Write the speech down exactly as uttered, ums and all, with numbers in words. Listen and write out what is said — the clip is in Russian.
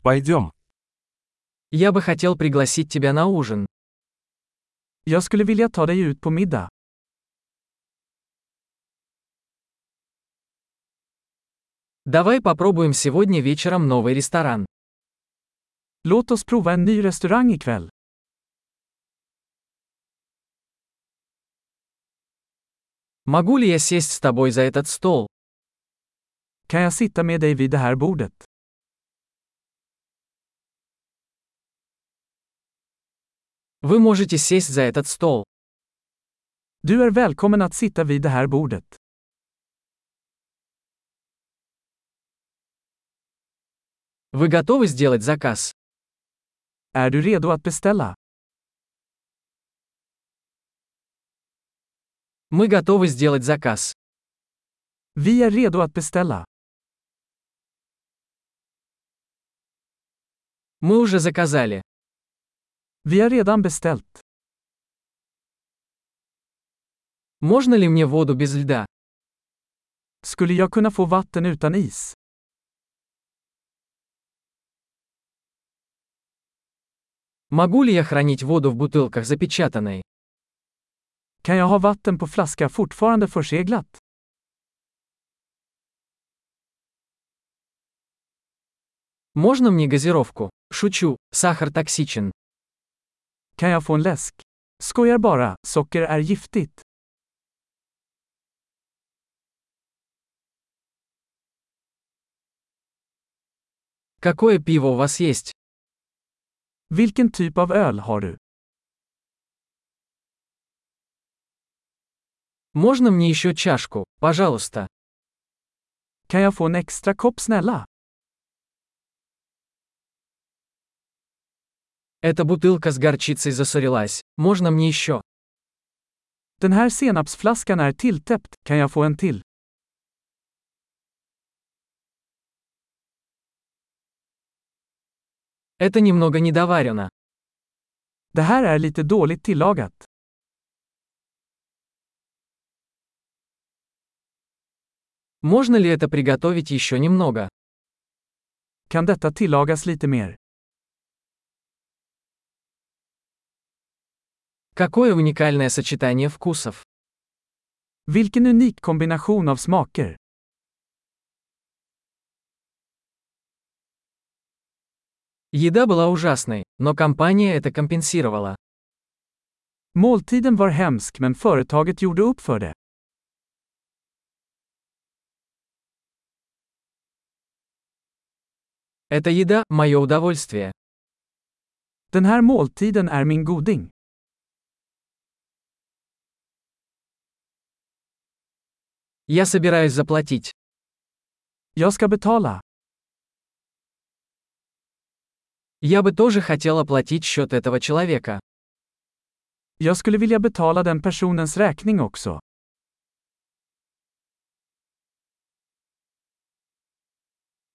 Пойдем. Я бы хотел пригласить тебя на ужин. Jag skulle vilja ta dig ut på middag. Давай попробуем сегодня вечером новый ресторан. Låt oss prova en ny restaurang ikväll. Могу ли я сесть с тобой за этот стол? Kan jag sitta med dig vid det här bordet? Вы можете сесть за этот стол. Du är välkommen att sitta vid det här bordet. Вы готовы сделать заказ? Är du redo att beställa? Мы готовы сделать заказ. Vi är redo att beställa. Мы уже заказали. Vi har redan beställt. Можно ли мне воду без льда? Skulle jag kunna få vatten utan is? Могу ли я хранить воду в бутылках запечатанной? Kan jag ha vatten på flaska fortfarande förseglat? Можно мне газировку? Шучу, сахар токсичен. Kan jag få en läsk? Skojar bara, socker är giftigt. Какое пиво у вас есть? Vilken typ av öl har du? Можно мне еще чашку, пожалуйста? Kan jag få en extra kopp snälla? Эта бутылка с горчицей засорилась. Можно мне еще? Den här senapsflaskan är tilltäppt, kan jag få en till? Это немного недоварено. Det här är lite dåligt tillagat. Можно ли это приготовить еще немного? Kan detta tillagas lite mer? Какое уникальное сочетание вкусов. Vilken unik kombination av smaker. Еда была ужасной, но компания это компенсировала. Måltiden var hemsk men företaget gjorde upp för det. Эта еда – мое удовольствие. Den här måltiden är min goding. Я собираюсь заплатить. Jag ska betala. Я бы тоже хотел оплатить счет этого человека. Jag skulle vilja betala den personens räkning också.